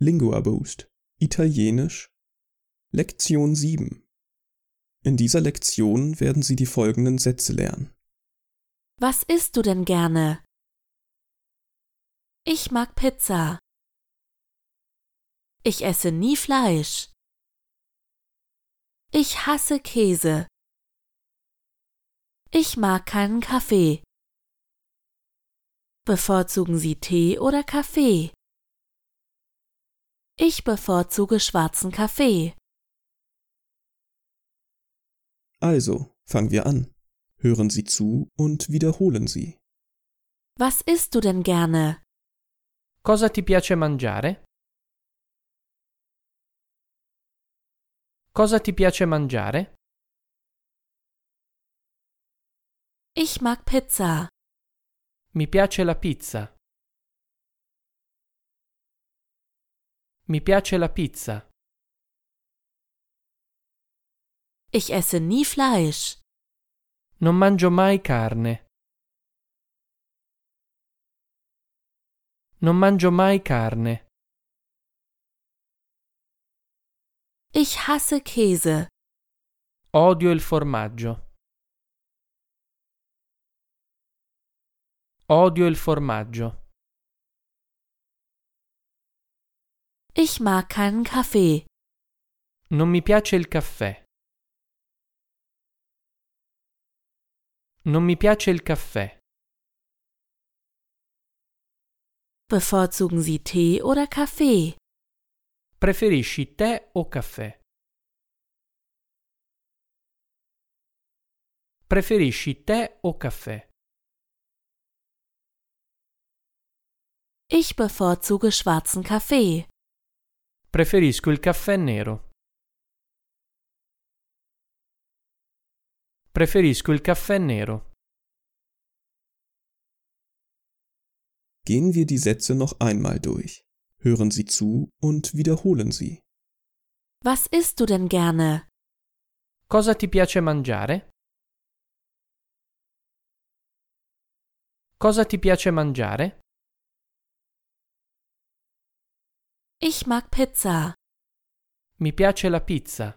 Lingua Boost Italienisch Lektion 7. In dieser Lektion werden Sie die folgenden Sätze lernen. Was isst du denn gerne? Ich mag Pizza. Ich esse nie Fleisch. Ich hasse Käse. Ich mag keinen Kaffee. Bevorzugen Sie Tee oder Kaffee? Ich bevorzuge schwarzen Kaffee. Also, fangen wir an. Hören Sie zu und wiederholen Sie. Was isst du denn gerne? Cosa ti piace mangiare? Cosa ti piace mangiare? Ich mag Pizza. Mi piace la pizza. Mi piace la pizza. Ich esse nie Fleisch. Non mangio mai carne. Non mangio mai carne. Ich hasse Käse. Odio il formaggio. Odio il formaggio. Ich mag keinen Kaffee. Non mi piace il caffè. Non mi piace il caffè. Bevorzugen Sie Tee oder Kaffee? Preferisci tè o caffè? Preferisci tè o caffè? Ich bevorzuge schwarzen Kaffee. Preferisco il caffè nero. Preferisco il caffè nero. Gehen wir die Sätze noch einmal durch. Hören Sie zu und wiederholen Sie. Was isst du denn gerne? Cosa ti piace mangiare? Cosa ti piace mangiare? Ich mag Pizza. Mi piace la pizza.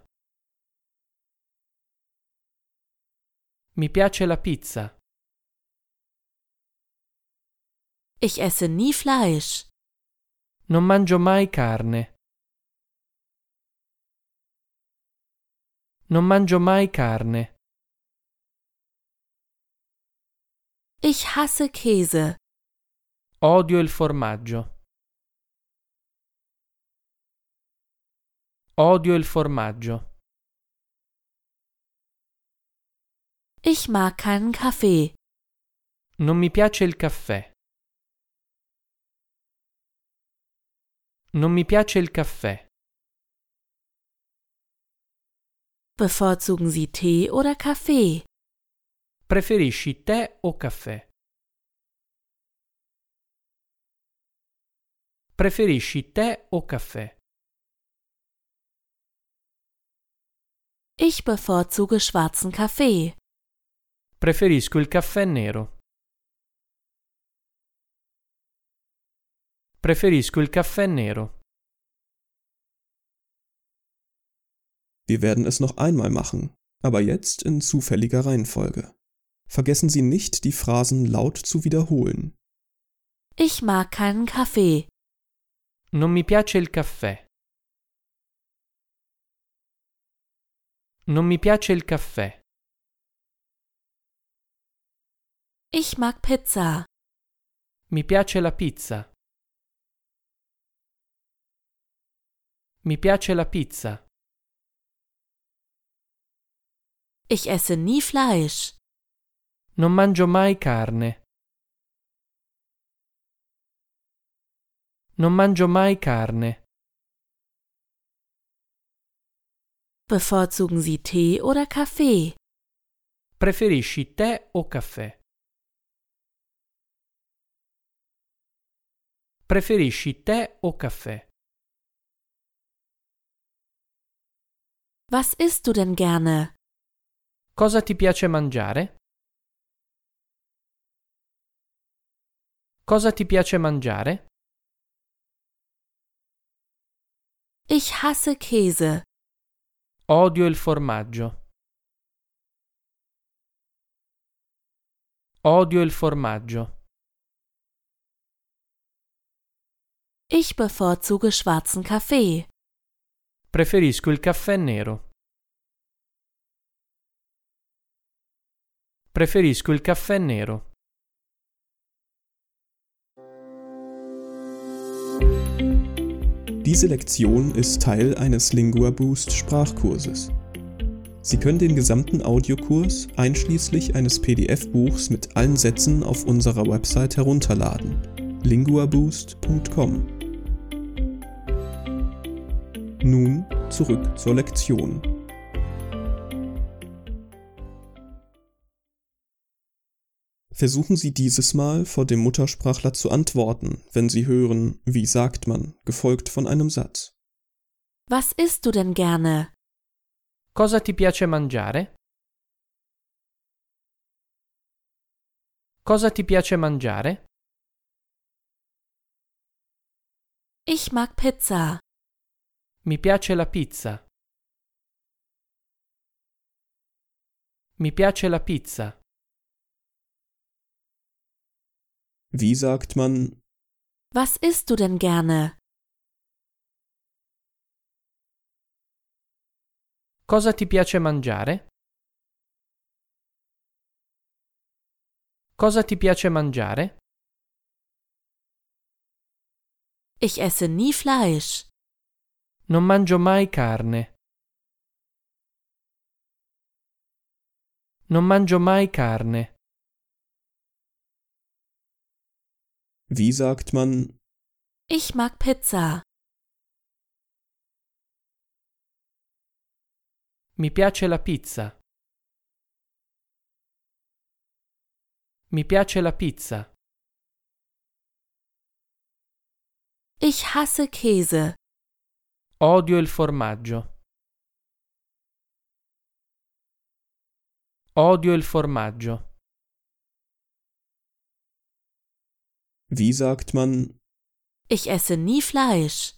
Mi piace la pizza. Ich esse nie Fleisch. Non mangio mai carne. Non mangio mai carne. Ich hasse Käse. Odio il formaggio. Odio il formaggio. Ich mag keinen Kaffee. Non mi piace il caffè. Non mi piace il caffè. Bevorzugen Sie Tee oder Kaffee? Preferisci tè o caffè? Preferisci tè o caffè? Ich bevorzuge schwarzen Kaffee. Preferisco il caffè nero. Preferisco il caffè nero. Wir werden es noch einmal machen, aber jetzt in zufälliger Reihenfolge. Vergessen Sie nicht, die Phrasen laut zu wiederholen. Ich mag keinen Kaffee. Non mi piace il caffè. Non mi piace il caffè. Ich mag Pizza. Mi piace la pizza. Mi piace la pizza. Ich esse nie Fleisch. Non mangio mai carne. Non mangio mai carne. Bevorzugen Sie Tee oder Kaffee? Preferisci tè o caffè? Preferisci tè o caffè? Was isst du denn gerne? Cosa ti piace mangiare? Cosa ti piace mangiare? Ich hasse Käse. Odio il formaggio. Odio il formaggio. Ich bevorzuge schwarzen Kaffee. Preferisco il caffè nero. Preferisco il caffè nero. Diese Lektion ist Teil eines Lingua Boost Sprachkurses. Sie können den gesamten Audiokurs einschließlich eines PDF-Buchs mit allen Sätzen auf unserer Website herunterladen: linguaboost.com. Nun zurück zur Lektion. Versuchen Sie dieses Mal vor dem Muttersprachler zu antworten, wenn Sie hören, wie sagt man, gefolgt von einem Satz. Was isst du denn gerne? Cosa ti piace mangiare? Cosa ti piace mangiare? Ich mag Pizza. Mi piace la pizza. Mi piace la pizza. Wie sagt man, Was isst du denn gerne? Cosa ti piace mangiare? Cosa ti piace mangiare? Ich esse nie Fleisch. Non mangio mai carne. Non mangio mai carne. wie sagt man, Ich mag Pizza. Mi piace la pizza. Mi piace la pizza. Ich hasse Käse. Odio il formaggio. Odio il formaggio. wie sagt man, Ich esse nie Fleisch.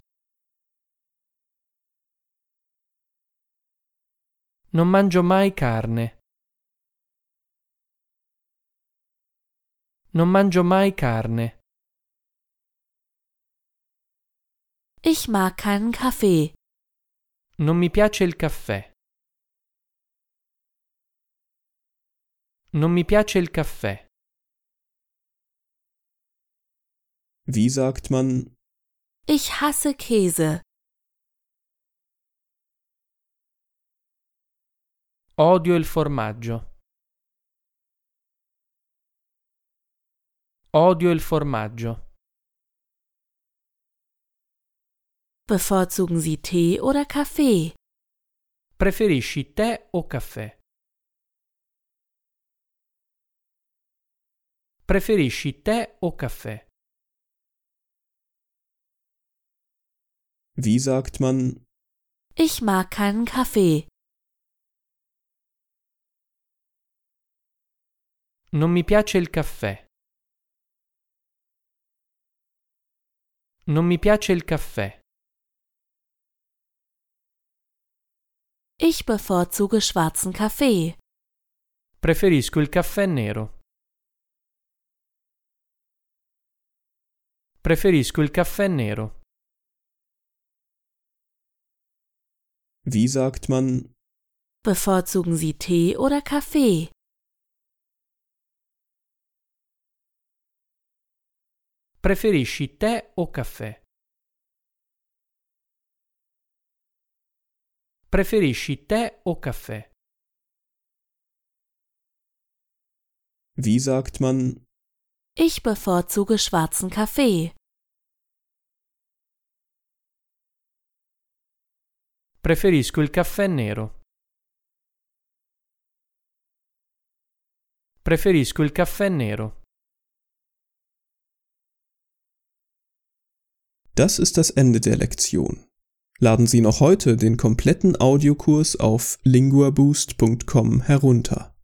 Non mangio mai carne. Non mangio mai carne. Ich mag keinen Kaffee. Non mi piace il caffè. Non mi piace il caffè. wie sagt man, Ich hasse Käse. Odio il formaggio. Odio il formaggio. Bevorzugen Sie Tee oder Kaffee? Preferisci tè o caffè? Preferisci tè o caffè? wie sagt man, Ich mag keinen Kaffee. Non mi piace il caffè. Non mi piace il caffè. Ich bevorzuge schwarzen Kaffee. Preferisco il caffè nero. Preferisco il caffè nero. wie sagt man, Bevorzugen Sie Tee oder Kaffee? Preferisci tè o caffè? Preferisci tè o caffè? wie sagt man, Ich bevorzuge schwarzen Kaffee. Preferisco il caffè nero. Preferisco il caffè nero. Das ist das Ende der Lektion. Laden Sie noch heute den kompletten Audiokurs auf linguaboost.com herunter.